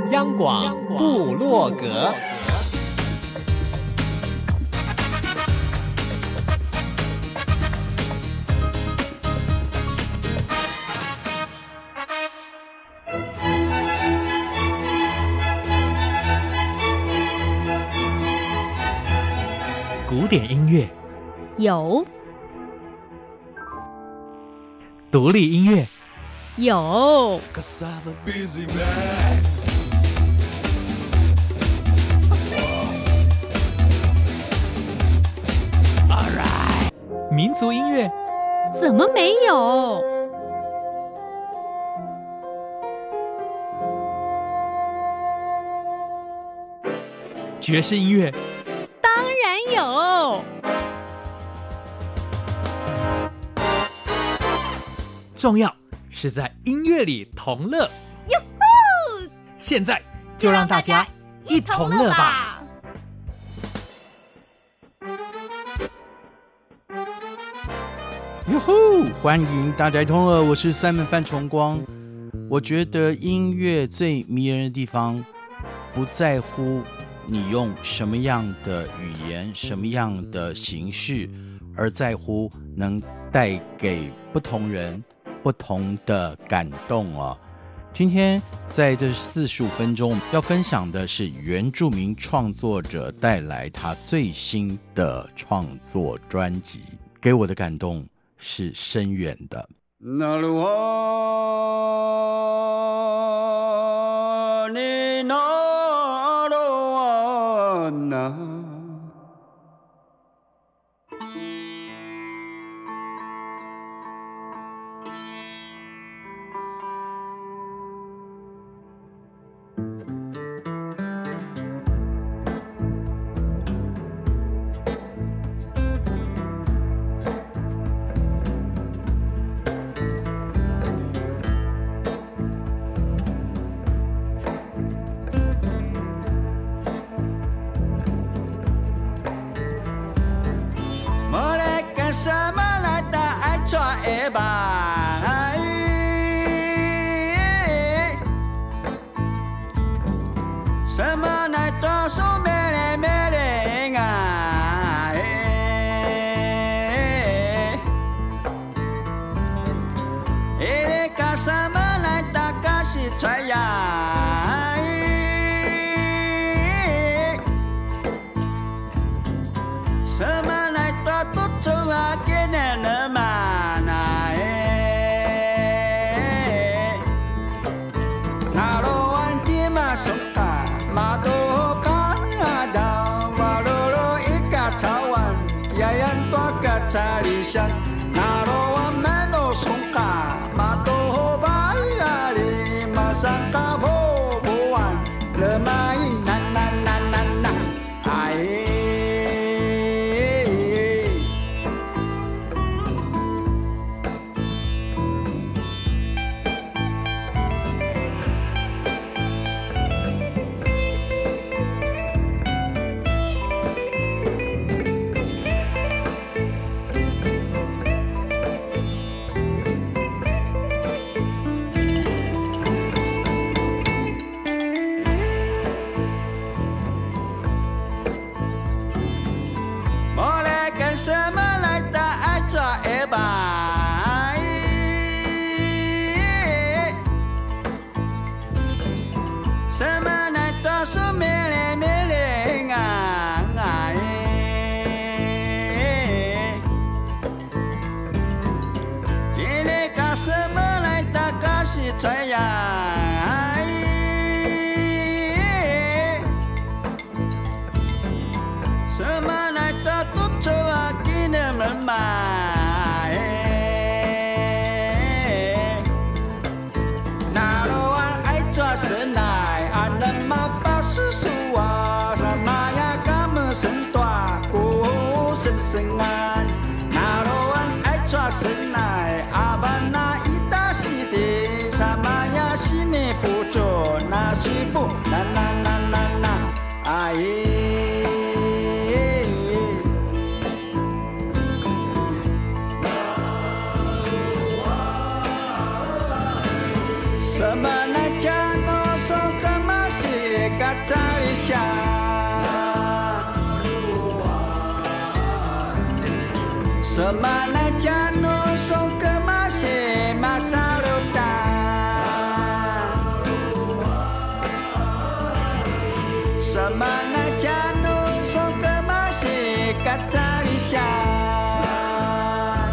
央广部落格，古典音乐有， 独立音乐有， 民族音乐怎么没有？ 爵士音乐当然有。 重要是在音乐里同乐。 哟呼！ 现在就让大家一同乐吧！ 哟吼！欢迎大家一同乐，我是Simon范崇光。我觉得音乐最迷人的地方，不在乎你用什么样的语言、什么样的形式，而在乎能带给不同人不同的感动哦。今天在这45分钟要分享的是原住民创作者带来他最新的创作专辑，给我的感动是深远的。 什么来的爱抓一把？什么来的说美丽美丽啊？个什么来的个是吹呀？什么来的都走啊，给人了嘛那那罗湾的马松卡马多卡达瓦罗罗一个草湾呀呀多个查理乡那罗湾门罗松卡马多巴呀里马上卡波不完了嘛一那那那那那哎。什么来的爱抓一把？什么来的说美丽美丽啊？你个什么来的个是吹呀？什么来的都走啊，给你们买。那罗湾爱抓神来，阿人马巴叔叔啊，什么呀？他们生大过生生啊。那罗湾爱抓神来，阿爸那一大西的，什么呀？西你不做，那西不，那那那那那，哎。什么来讲？我说干嘛？ Semanajano song kemase masa lutan Semanajano song kemase katalisan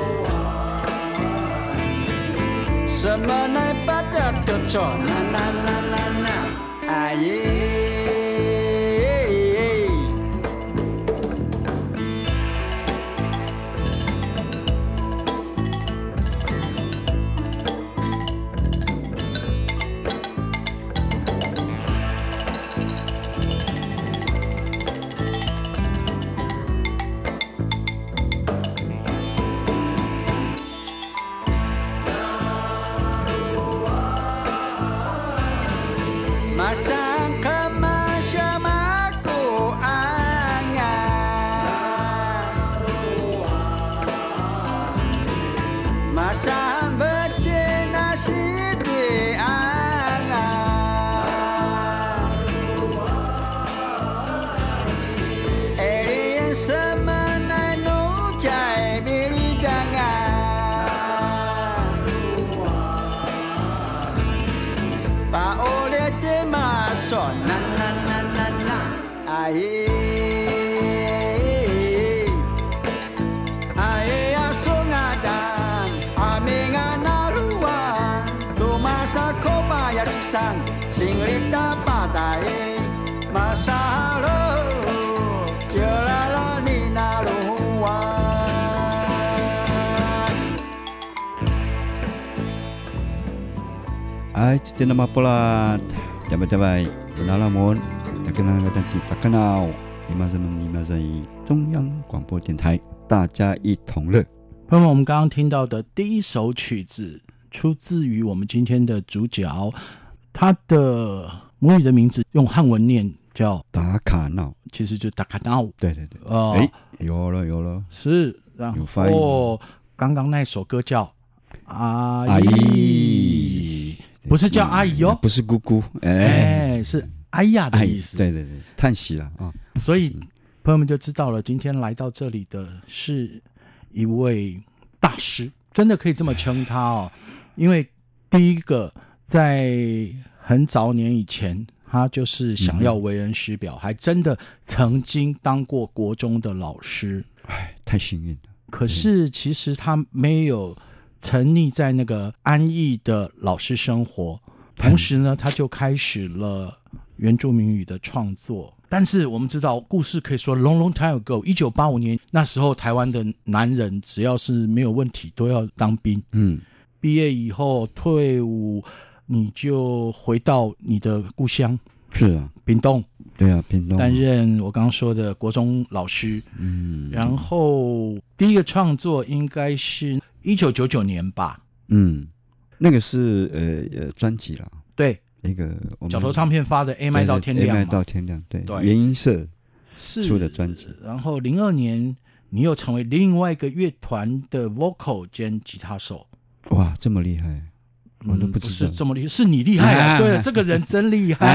Semanai pada tujuh na na na na na aye Masang kemasyamaku angan Masang bercina siti angan Elin semenai nujai bilidangan Pak oleh masuk na na na na na aye aye asungadan aminga naruan tumasa kobayashi san singlita padae masalo kirala ni naruan Hai, kita nama pola Jabai-jabai Penalamun Tak kenal dan tak kenal 103.1中央广播电台大家一同乐朋友们，我们刚刚听到的第一首曲子出自于我们今天的主角，他的母语的名字用汉文念叫达卡闹， 其实就达卡闹。 对对对，有了， 是。然后刚刚那首歌叫阿姨，不是叫阿姨哦， 不是姑姑， 是哎呀的意思。 对对对，叹息了啊。 所以朋友们就知道了，今天来到这里的是一位大师，真的可以这么称他哦。因为第一个在很早年以前，他就是想要为人师表，还真的曾经当过国中的老师。 哎，太幸运了。 可是其实他没有沉溺在那个安逸的老师生活，同时呢，他就开始了原住民语的创作。但是我们知道，故事可以说 long long time ago， 1985年那时候，台湾的男人只要是没有问题，都要当兵。毕业以后退伍，你就回到你的故乡。 是啊， 屏东。 对啊，屏东担任我刚刚说的国中老师。然后第一个创作应该是1999年吧。 那个是专辑啦。 对， 一个角头唱片发的 A 麦到天亮嘛。 A 麦到天亮，对，原音社出的专辑。 然后02年你又成为另外一个乐团的 vocal 兼吉他手。 哇，这么厉害！我都不知道。 不是这么厉害，是你厉害啊！对了，这个人真厉害。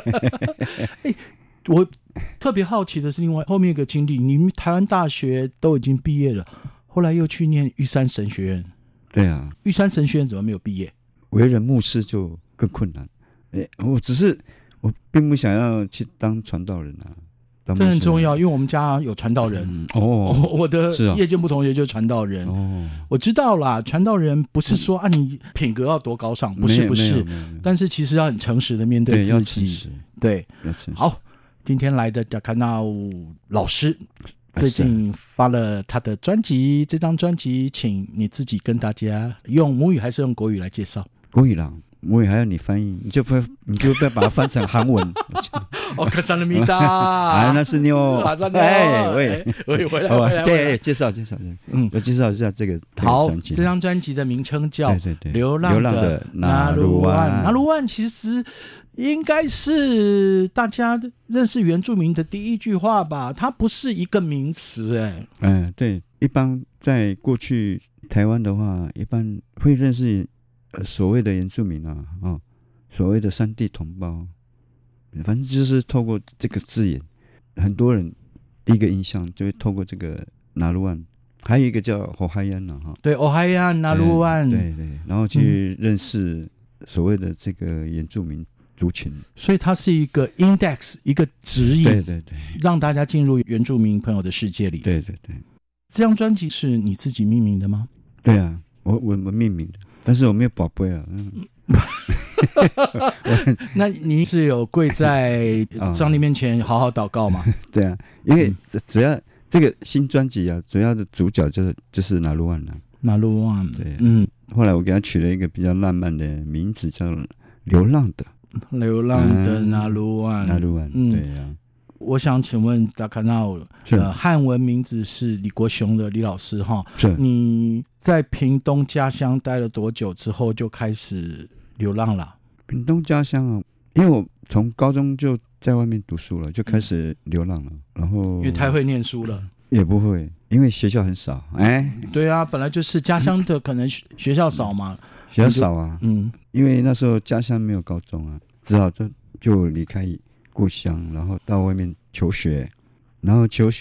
我特别好奇的是，另外后面一个经历，你们台湾大学都已经毕业了，后来又去念玉山神学院。 对啊， 玉山神学院怎么没有毕业？ 为人牧师就更困难。我并不想要去当传道人啊。 这很重要，因为我们家有传道人。我的夜间部同学就是传道人。我知道啦，传道人不是说你品格要多高尚，不是，但是其实要很诚实的面对自己。对，好，今天来的达卡纳老师最近发了他的专辑，这张专辑请你自己跟大家用母语还是用国语来介绍？ 国语啦。我也还要你翻译，你就不要把它翻成韩文。 卡萨拉米达， 那是你哦。 回来， 介绍，我介绍一下这个好，这张专辑的名称叫《流浪的纳鲁湾》。纳鲁湾其实应该是大家认识原住民的第一句话吧，它不是一个名词。 对，一般在过去台湾的话，一般会认识所谓的原住民啊，所谓的山地同胞，反正就是透过这个字眼，很多人第一个印象就会透过这个纳鲁湾还有一个叫火海岸哈， 对，欧海岸、纳鲁湾， 对，然后去认识所谓的这个原住民族群， 所以它是一个 index， 一个指引， 对， 让大家进入原住民朋友的世界里。 对。 这张专辑是你自己命名的吗？ 对啊，我命名的，但是我没有宝贝啊。 那你是有跪在上帝面前好好祷告吗？ 对啊，因为主要这个新专辑啊，主要的主角就是纳鲁湾了。 纳鲁湾， 对，后来我给他取了一个比较浪漫的名字，叫流浪的纳鲁湾。纳鲁湾，对啊。 我想请问大家闹汉文名字是李国雄的李老师哈， 是你在屏东家乡待了多久之后就开始流浪了？ 屏东家乡啊，因为我从高中就在外面读书了，就开始流浪了，然后因为太会念书了。 也不会，因为学校很少。 对啊，本来就是家乡的可能学校少嘛， 学校少啊，因为那时候家乡没有高中啊，只好就离开故乡，然后到外面求学，然后求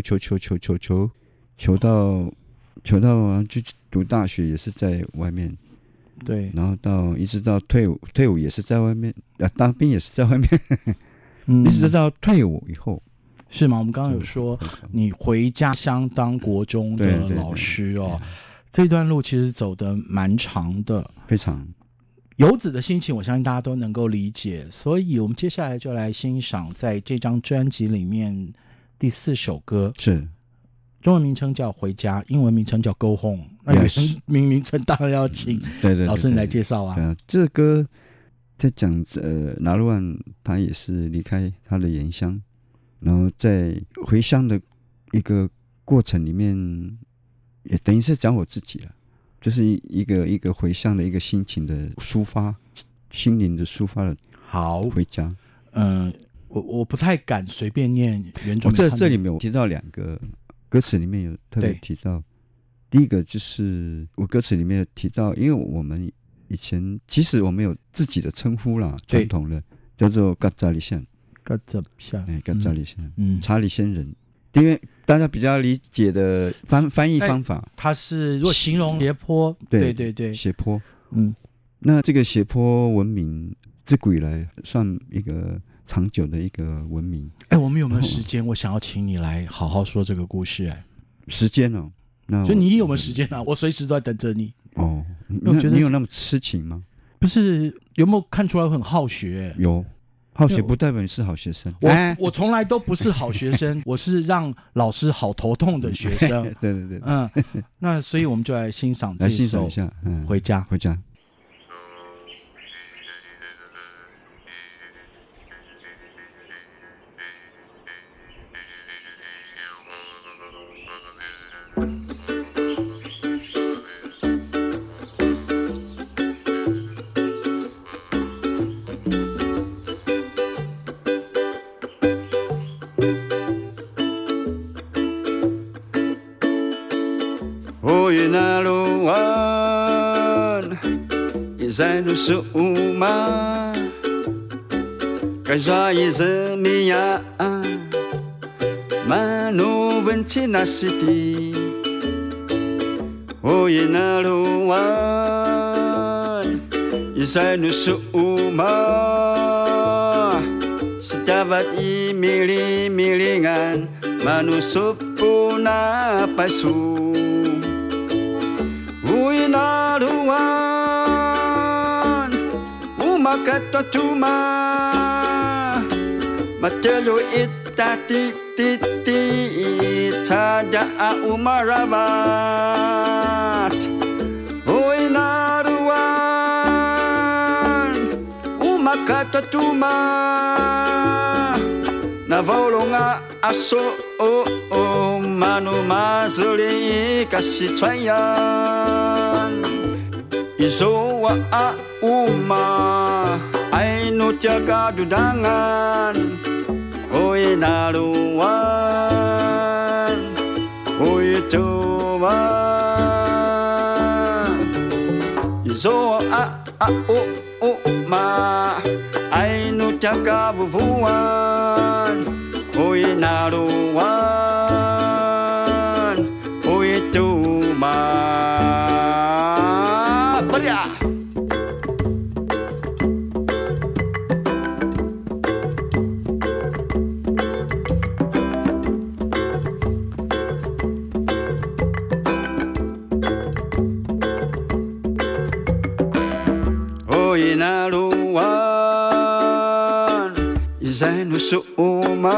到就读大学也是在外面， 对， 然后一直到退伍也是在外面，当兵也是在外面，一直到退伍以后。 是吗？我们刚刚有说你回家乡当国中的老师哦，这段路其实走得蛮长的， 非常。 游子的心情我相信大家都能够理解，所以我们接下来就来欣赏在这张专辑里面第4首歌， 是中文名称叫回家，英文名称叫 Go Home， 那原名称当然要请老师你来介绍啊。 这个歌在讲纳鲁湾他也是离开他的原乡，然后在回乡的一个过程里面也等于是讲我自己了，就是一个回乡的一个心情的抒发，心灵的抒发了。好，回家。 我不太敢随便念原住民。 这里面我提到2个歌词里面有特别提到，第一个就是我歌词里面有提到，因为我们以前其实我们有自己的称呼啦，传统的叫做嘎扎里县， 嘎扎里县， 查理仙人。因为大家比较理解的翻译方法， 它是如果形容斜坡，对， 斜坡，那这个斜坡文明自古以来算一个长久的一个文明。 我们有没有时间？我想要请你来好好说这个故事。 时间哦，那所以你有没有时间啊？我随时都在等着你。 哦，你有那么痴情吗？ 不是，有没有看出来我很好学？ 有。好学不代表你是好学生， 我从来都不是好学生，我是让老师好头痛的学生。 对， 那所以我们就来欣赏这首《回家》。 回家。在路苏马，该抓一只米呀，马努问题那是的，我也那路湾，也在路苏马，是大把一米里安，马努苏布那白树，我也那路湾。Makata tuma matelo itati titi tada umarabat oinaruan umakata tuma na volonga aso o manu mazuli kasitwayan izowa a uma ai no jaga dudangan oi naruan oi toba izo a o ma ai no jaga bubuan oi naruan oi Oi naruan Izai nusuma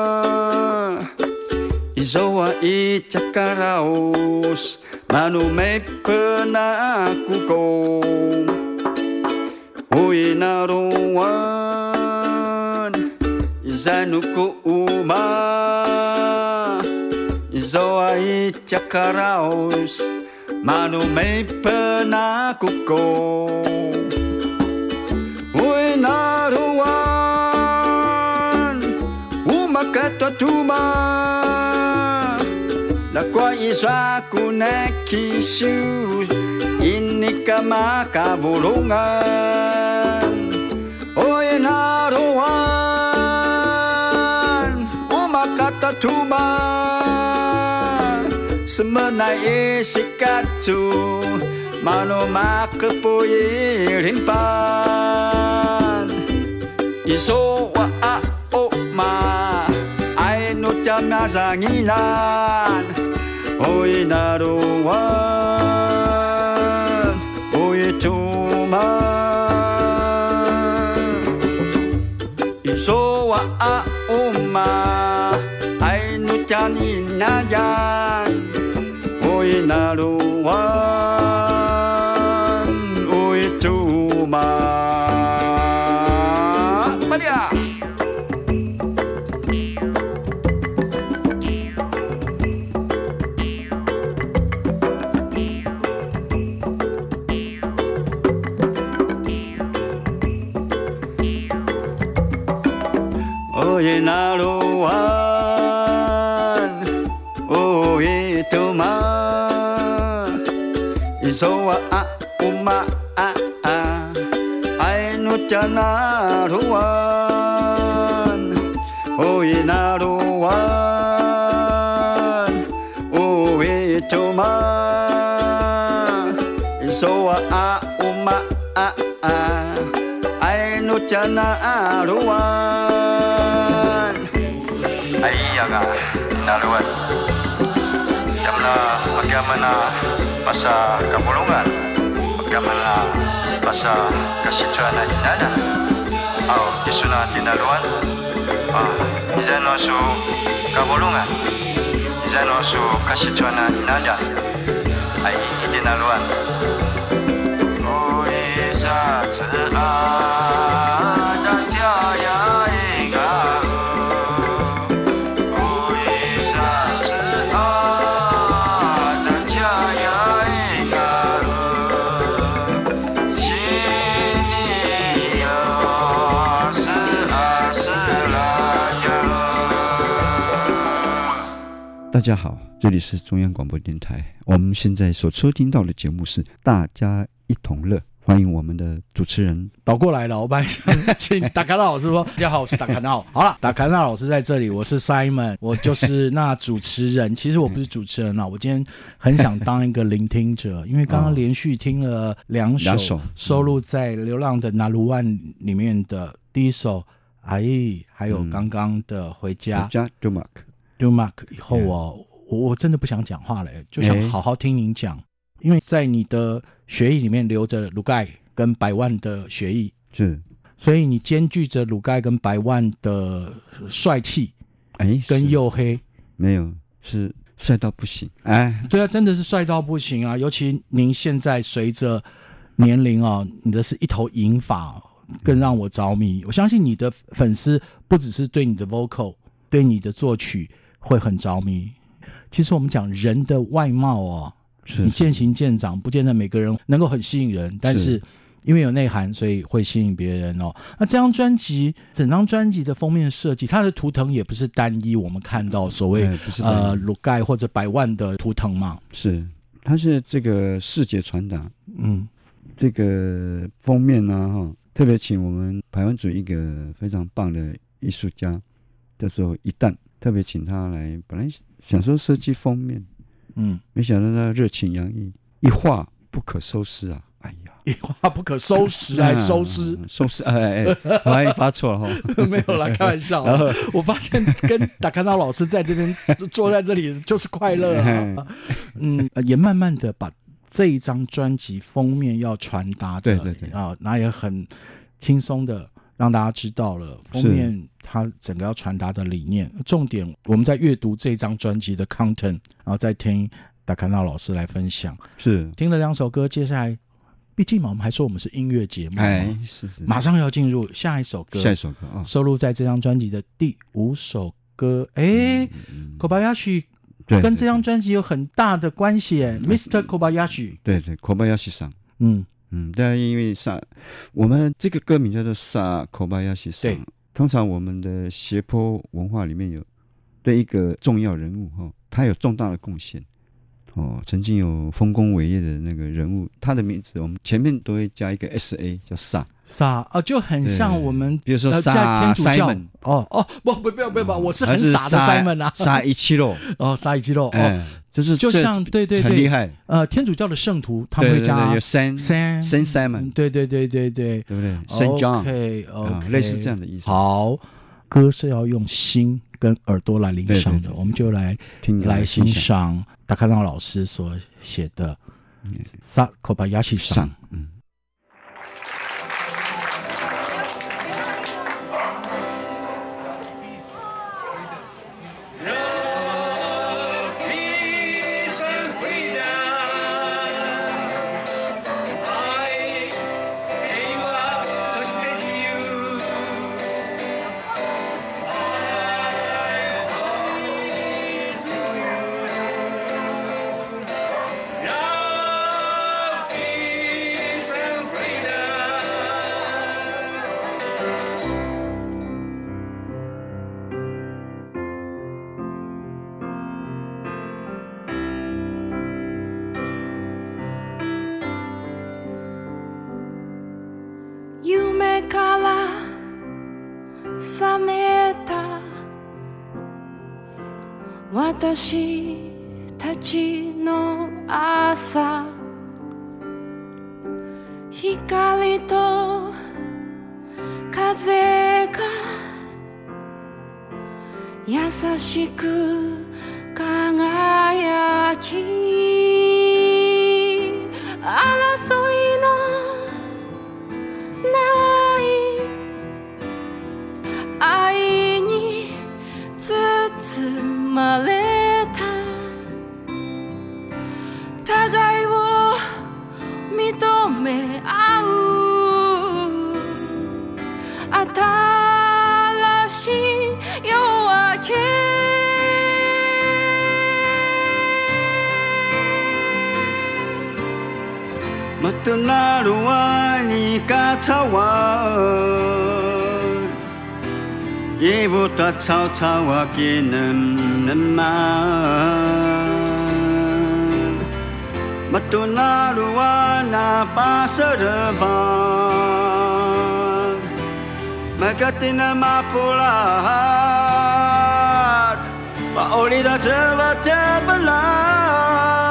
Izoa I cakaraos Manu may penakuko Oi naruan Izai nukuma Izoa I cakaraos Manu may penakuko Oi naruan Umakata tuma Nakwa iswa kunekishu Ini kamakabulungan Oi naruan Umakata tuma Semenai sikatu Mano makapuyi rimpan Iso wa a o ma Ai no jana zanginan Oi naruan Oi cuma Iso wa a o ma Ai no jani najan Oi naruan Oi cuma Maria Oi naruan Oi cuma Isoa a uma a Ai no jana ruan Oi naruan Oi cuma Isoa a uma a Ai no jana ruan Ai aga naruan Jamna bagaimana masa kabulungan bagaimana masa kasituan inada au isuna tinaluan izano su kabulungan izano su kasituan inada ai tinaluan oh isa ada jaya inga 大家好，这里是中央广播电台。我们现在所收听到的节目是《大家一同乐》，欢迎我们的主持人。 倒过来了，我帮请达卡纳老师说：“大家好，我是达卡纳。”好了，达卡纳老师在这里，我是 Simon， 我就是那主持人。其实我不是主持人啊，我今天很想当一个聆听者，因为刚刚连续听了两首收录在《流浪的那鲁万》里面的第一首《阿姨》，还有刚刚的《回家》。Dumac 以后我真的不想讲话了，就想好好听您讲，因为在你的血液里面流着鲁盖跟百万的血液， 是， 所以你兼具着鲁盖跟百万的帅气，跟黝黑， 没有，是帅到不行， 对啊，真的是帅到不行啊！尤其您现在随着年龄啊，你的是一头银发，更让我着迷。我相信你的粉丝不只是对你的 vocal， 对你的作曲会很着迷。其实我们讲人的外貌哦，你渐行渐长，不见得每个人能够很吸引人，但是因为有内涵，所以会吸引别人哦。那这张专辑，整张专辑的封面设计，它的图腾也不是单一，我们看到所谓鲁盖或者百万的图腾嘛， 是，它是这个视觉传达，这个封面呢，特别请我们排湾组一个非常棒的艺术家，叫做一旦。特别请他来，本来想说设计封面，没想到他热情洋溢，一画不可收拾啊！哎呀， 一画不可收拾，还收拾， 我还发错了哈， 没有啦，开玩笑。我发现跟达卡纳老师在这边坐在这里就是快乐啊，也慢慢的把这一张专辑封面要传达的， 对那也很轻松的让大家知道了封面它整个要传达的理念。重点我们在阅读这张专辑的 content， 然后再听达卡纳老师来分享。 是听了2首歌，接下来毕竟嘛，我们还说我们是音乐节目， 是马上要进入下一首歌，收录在这张专辑的第5首歌。Kobayashi 跟这张专辑有很大的关系，Mr. Kobayashi。 对，Kobayashi 上，但因为我们这个歌名叫做萨 Kobayashi 上，对，通常我们的斜坡文化里面有对一个重要人物他有重大的贡献。曾经有丰功伟业的那个人物，他的名字我们前面都会加一个 SA， 叫萨就很像我们比如说萨 Simon， 不要，我是很傻的 Simon 啊， 萨一七肉萨一七肉就像对很厉害。 天主教的圣徒他们会加有 Saint Simon， 对不对 ？Saint John， 类似这样的意思。 好，歌是要用心跟耳朵来聆赏的，我们就来欣赏达卡纳老师所写的萨 Kobayashi 上。 夢から覚めた私たちの朝、光と風が優しく輝き、争いのない愛に包まれた、互いを認め合う新しい夜明け、 Matanaluan ikatawan Ibu ta cao cao akinam naman Matanaluan napasaravan Magatina mapulat Paulida sa tabalan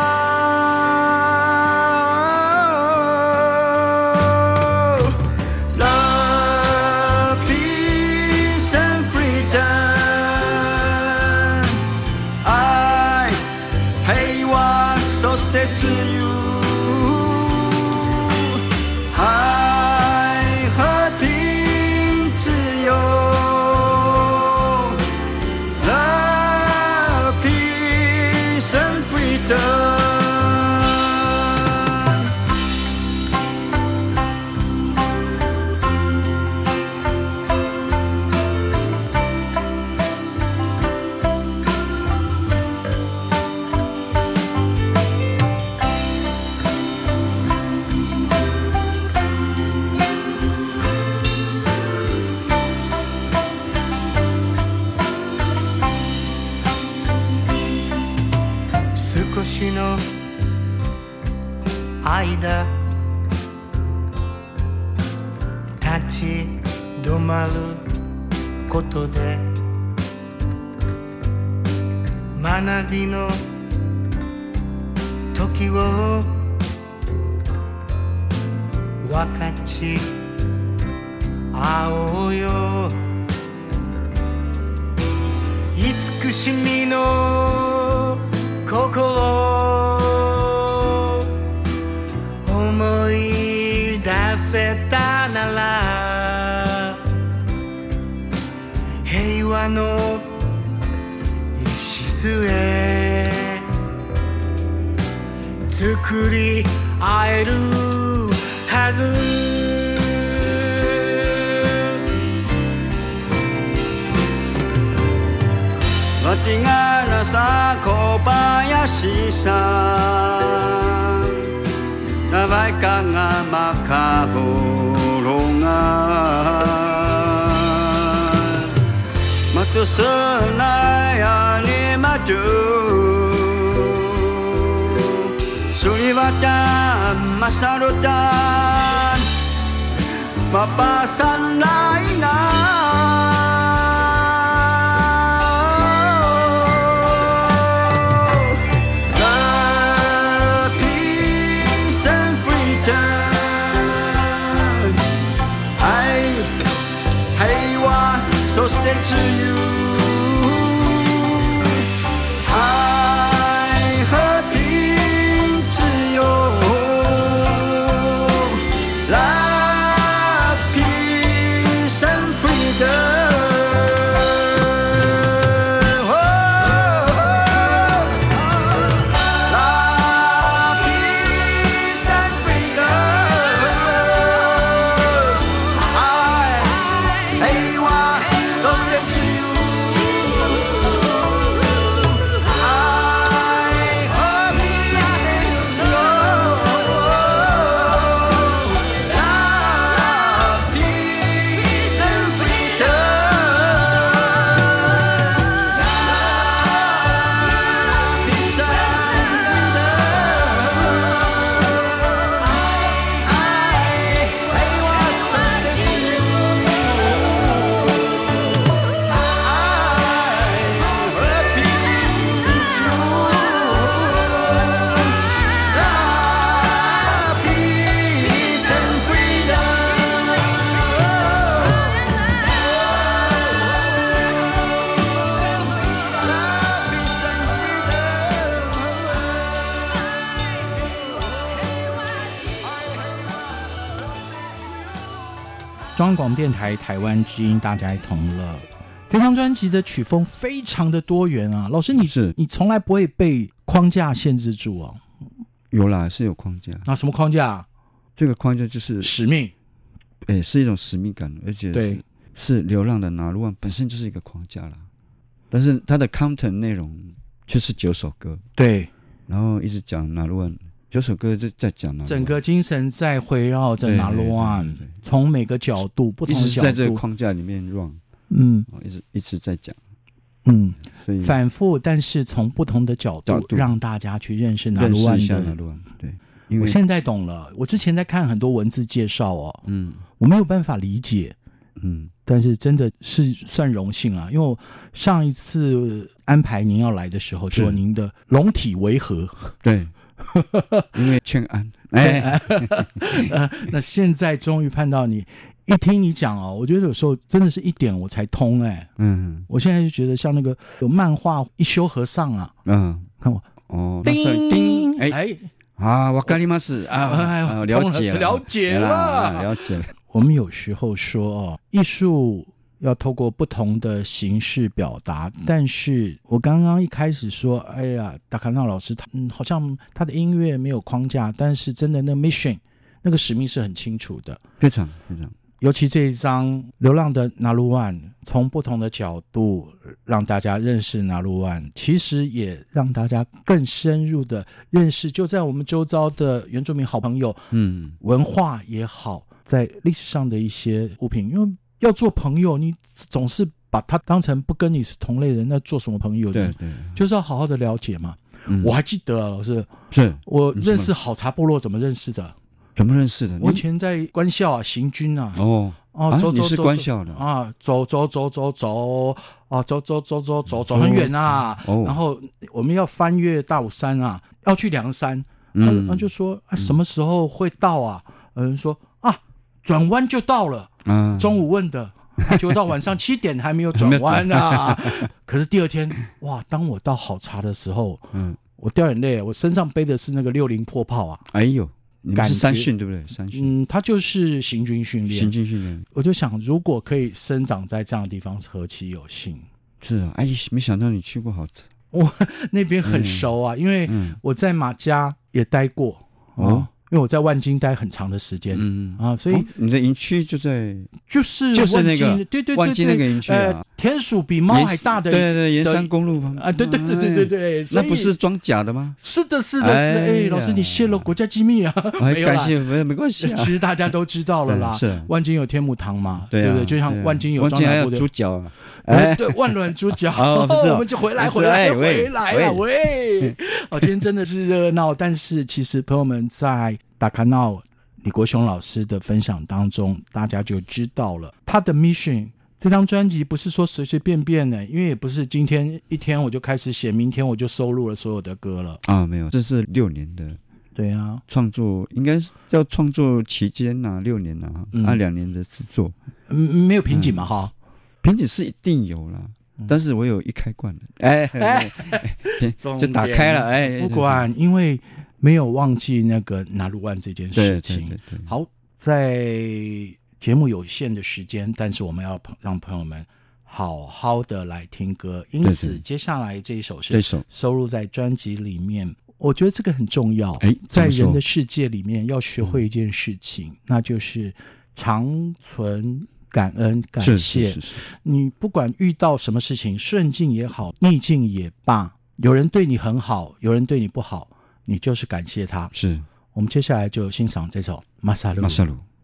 自由，爱和平自由 ，Love, peace and freedom。少しの間立ち止まることで学びの時を分かち合おうよ、慈しみの心送り合えるはずわてがらさ小林さん長いかがまかぼろがまとすなやにまじゅSulibatan masarutan mapasan lainan So stay to you爱和平自由 Love, peace and freedom Love, peace and freedom 爱我 So stay to you I hope it's Love, peace and freedom Love, peace and freedom I want so stay to you 中央广播电台台湾之音，大家同乐。这张专辑的曲风非常的多元啊，老师你从来不会被框架限制住哦？ 有啦，是有框架。 那什么框架？ 这个框架就是使命， 是一种使命感，而且对是流浪的拿鲁湾本身就是一个框架啦。但是它的 content 内容就是9首歌， 对， 然后一直讲拿鲁湾。9首歌就在讲拿鲁湾， 整个精神在围绕着拿鲁湾，从每个角度、不同的角度， 一直在这个框架里面 run， 一直在讲，所以反复，但是从不同的角度让大家去认识拿鲁湾的。 拿鲁湾，对，因为我现在懂了。我之前在看很多文字介绍哦，我没有办法理解，但是真的是算荣幸啊，因为我上一次安排您要来的时候，就您的龙体为何？ 对。因为劝安， 那现在终于盼到你，一听你讲哦，我觉得有时候真的是一点我才通我现在就觉得像那个有漫画一休和尚啊，看我叮叮，わかります啊，了解了。 我们有时候说哦，艺术要透过不同的形式表达，但是我刚刚一开始说，哎呀，达卡纳老师好像他的音乐没有框架，但是真的那 mission 那个使命是很清楚的， 非常非常。 尤其这一张《流浪的拿鲁湾》，从不同的角度让大家认识拿鲁湾，其实也让大家更深入的认识就在我们周遭的原住民好朋友，文化也好，在历史上的一些物品，因为要做朋友，你总是把他当成不跟你是同类人，那做什么朋友呢？对，就是要好好的了解嘛。我还记得啊，老师，是我认识好茶部落怎么认识的？ 怎么认识的？ 我以前在官校啊，行军啊。 走，你是官校的啊？走很远啊。然后我们要翻越大武山啊，要去梁山。他就说什么时候会到啊？有人说转弯就到了。中午问的，结果到晚上7点还没有转弯啊。可是第二天，哇！当我到好茶的时候，我掉眼泪，我身上背的是那个60迫炮啊。 哎呦！你们是山训对不对？山训， 它就是行军训练。 行军训练， 我就想，如果可以生长在这样的地方，何其有幸！ 是啊，没想到你去过我那边很熟啊，因为我在马家也待过因为我在万金待很长的时间，所以你的营区就在就是那个对万金那个营区啊， 田鼠比猫还大的， 对，沿山公路啊，对， 那不是装甲的吗？ 是的，老师你泄露国家机密啊，没有啦， 没关系， 其实大家都知道了啦， 是万金有天母堂嘛， 对不对？就像万金有张还有猪脚啊， 对，万峦猪脚，我们就回来了，喂，今天真的是热闹，但是其实朋友们在达卡闹李国雄老师的分享当中，大家就知道了他的 mission。这张专辑不是说随随便便的，因为也不是今天一天我就开始写，明天我就收录了所有的歌了啊，没有，这是6年的， 对啊， 创作应该是叫创作期间6年2年的制作， 没有瓶颈嘛哈， 瓶颈是一定有啦，但是我有一开罐了，就打开了， 不管，因为没有忘记那个拿入万这件事情。 对， 好，在节目有限的时间，但是我们要让朋友们好好的来听歌，因此接下来这一首是收录在专辑里面。我觉得这个很重要，在人的世界里面要学会一件事情，那就是常存感恩感谢。 是你不管遇到什么事情，顺境也好，逆境也罢，有人对你很好，有人对你不好，你就是感谢他。 是， 我们接下来就欣赏这首《马萨鲁》。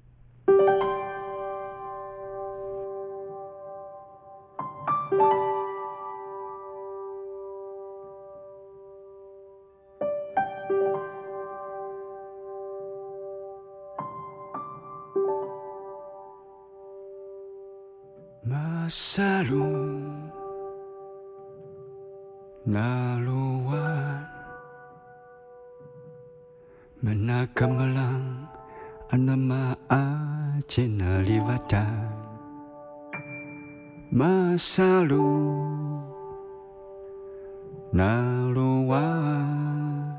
Masalu naluan menakamalang anama cinalibatan Masalu naluan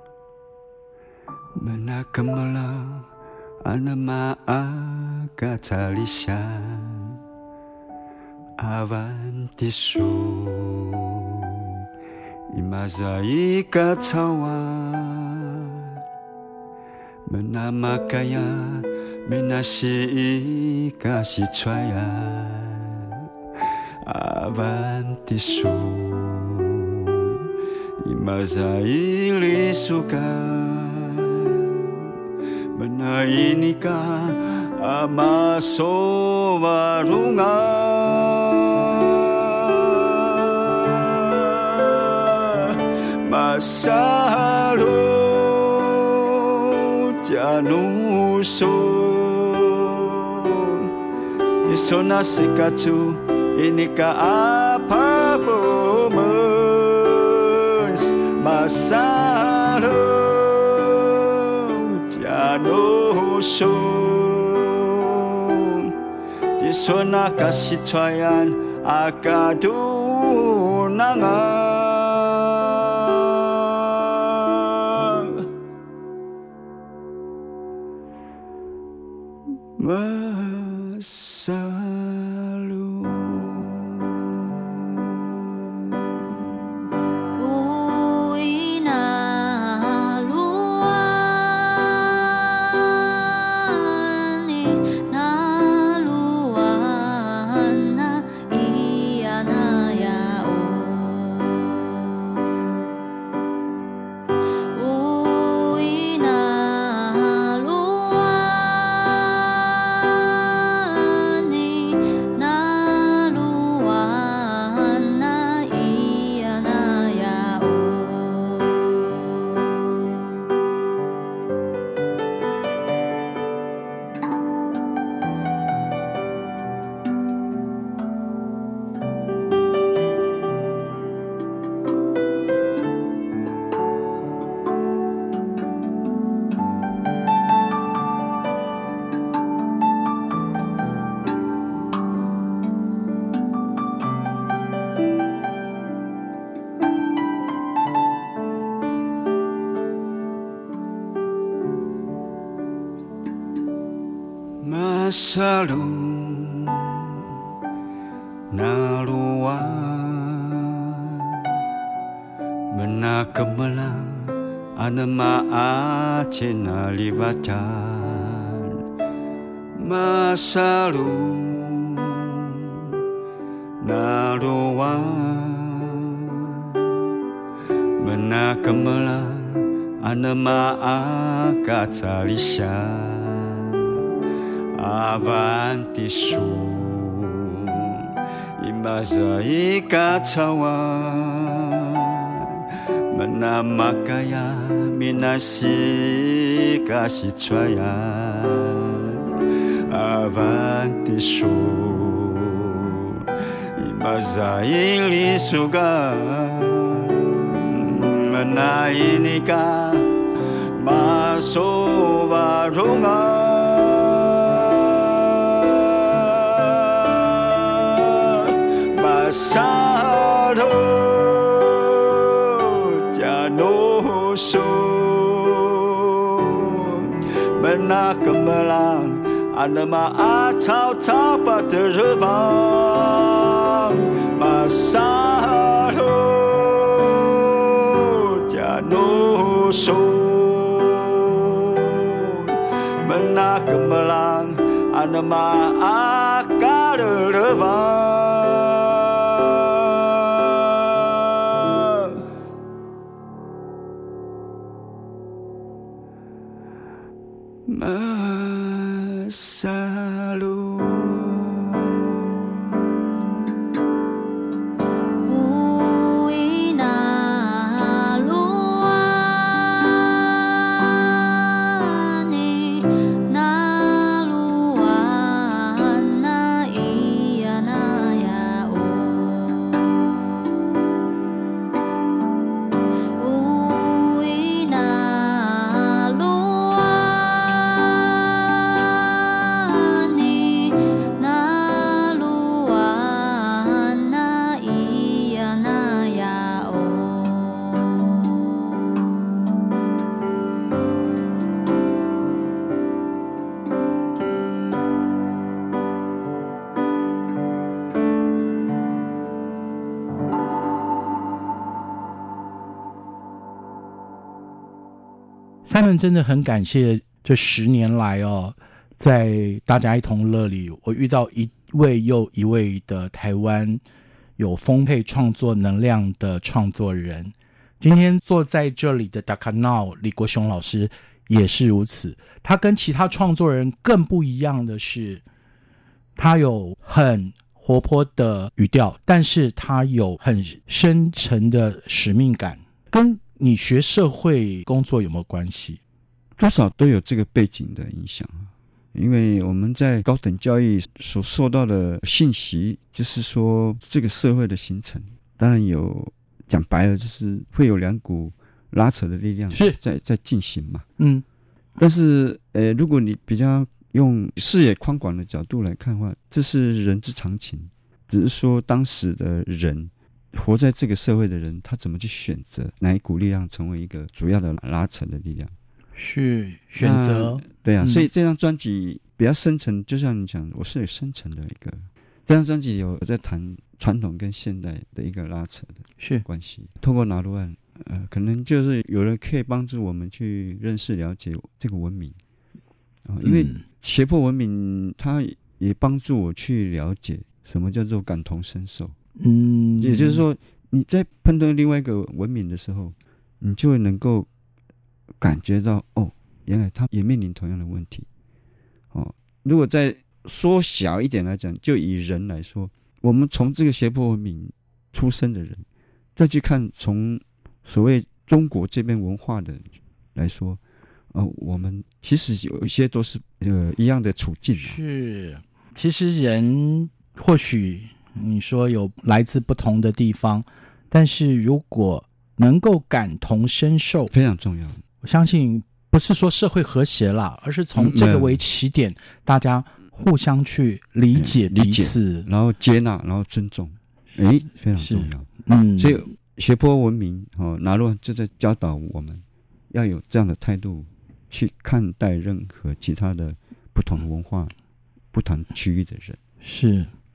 menakamalang anama katalisan Avanti su imazai katawan menamakaya menasi kasih cuayan Avanti su imazai lisuka menainika amaso warungan Masalu tianusun Disona sikatu inika performance Masalu tianusun Disona kasih cuayan akadunangan Masalu Uwi naluan ni naluan na iya na yao Uwi naluan naluan na iya na yao Masalu naluan Menakamelang anama acena libatan masalu naruan Menakamelang anama akatalisan avanti sun imbaza ikatawan Menamakaya minasi kasih cwayan avanti sun imbaza ili suga menainika masuk warungan masado Menakamelang anama acau cau pada rebang Masalu janusun Menakamelang anama akal rebang Masalu Simon 真的很感谢这10年来在大家一同乐里，我遇到一位又一位的台湾有丰沛创作能量的创作人。今天坐在这里的 Dakanao 李国雄老师也是如此，他跟其他创作人更不一样的是，他有很活泼的语调，但是他有很深沉的使命感。跟你学社会工作有没有关系？ 多少都有这个背景的影响，因为我们在高等教育所受到的信息，就是说这个社会的形成，当然有讲白了，就是会有2股拉扯的力量在进行嘛。但是如果你比较用视野宽广的角度来看的话，这是人之常情，只是说当时的人活在这个社会的人，他怎么去选择哪一股力量成为一个主要的拉扯的力量， 是选择。 对啊，所以这张专辑比较深层，就像你讲，我是有深层的一个，这张专辑有在谈传统跟现代的一个拉扯的关系。透过拿鲁案，可能就是有人可以帮助我们去认识了解这个文明，因为胁迫文明，它也帮助我去了解什么叫做感同身受。也就是说，你在碰到另外一个文明的时候，你就会能够感觉到，原来他也面临同样的问题。如果再缩小一点来讲，就以人来说，我们从这个胁迫文明出生的人，再去看从所谓中国这边文化的来说，我们其实有一些都是一样的处境。 是，其实人或许你说有来自不同的地方，但是如果能够感同身受， 非常重要。 我相信不是说社会和谐啦，而是从这个为起点，大家互相去理解彼此， 然后接纳，然后尊重，非常重要。所以胁迫文明拿鲁就在教导我们要有这样的态度去看待任何其他的不同的文化、不同区域的人。 是。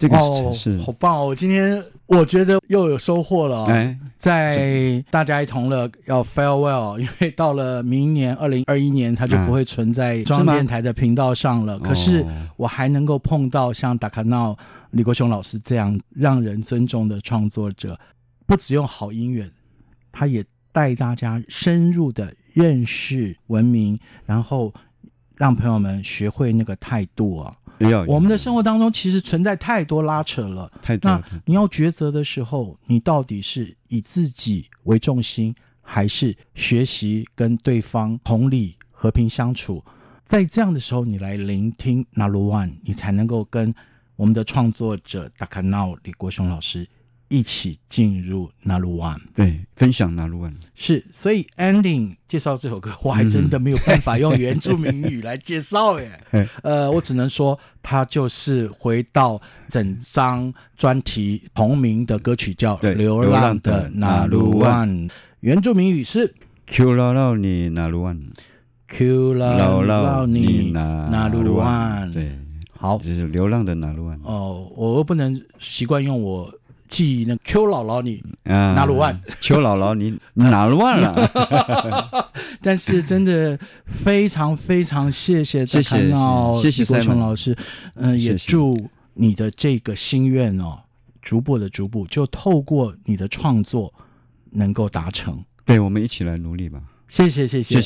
这个是好棒哦！今天我觉得又有收获了在大家一同乐要 farewell， 因为到了明年2021年，它就不会存在中央电台的频道上了。可是我还能够碰到像达卡闹李国雄老师这样让人尊重的创作者，不只用好音乐，他也带大家深入的认识文明，然后让朋友们学会那个态度啊。我们的生活当中其实存在太多拉扯了，那你要抉择的时候，你到底是以自己为重心，还是学习跟对方同理和平相处？在这样的时候，你来聆听那鲁万，你才能够跟我们的创作者达卡闹李国雄老师一起进入那鲁万， 对，分享那鲁万是。所以 ending 介绍这首歌，我还真的没有办法用原住民语来介绍耶。我只能说，它就是回到整张专题同名的歌曲，叫《流浪的那鲁万》，原住民语是 Q 老老你那鲁万 Q 老老你那鲁万。对，好， 就是流浪的那鲁万。 我又不能习惯用我记那 Q 姥姥你拿鲁万 ，Q 姥姥你拿鲁万了。 但是真的非常非常谢谢达卡闹李国雄老师，也祝你的这个心愿逐步就透过你的创作能够达成。 对，我们一起来努力吧。 谢谢。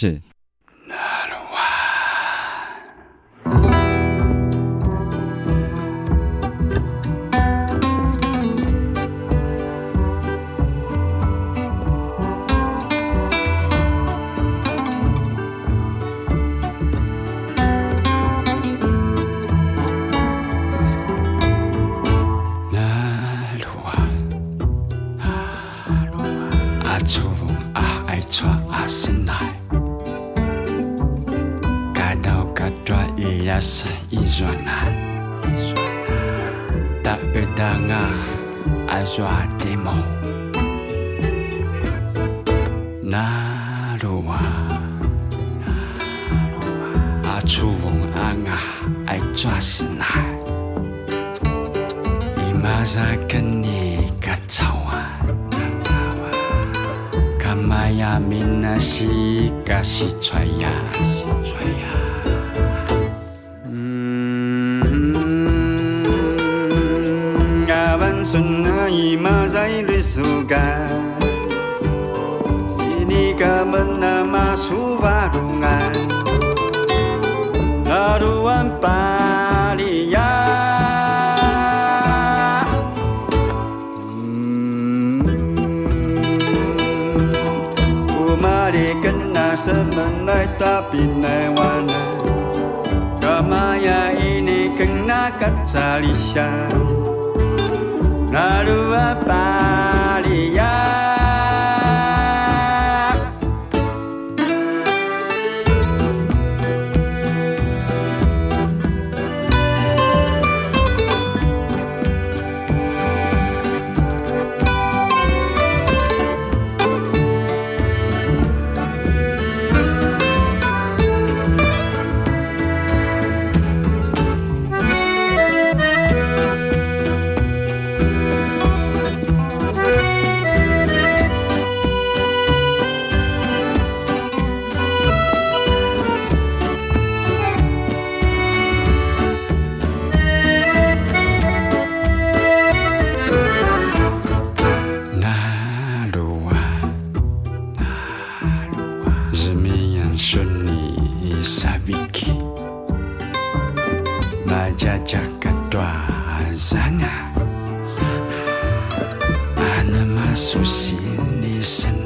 Sa izwana ta edanga azwa demo na ruwa a chuwong anga ai chwa sna imaza kani kachawa kamaya minashi kashi chwaya Sunai mazai risuga ini kamena suvarungan laruan palia umari kena semenai tapi newana kamaya ini kena kacalisya Narua palia Jaga dua sana, ana masuk sini sana.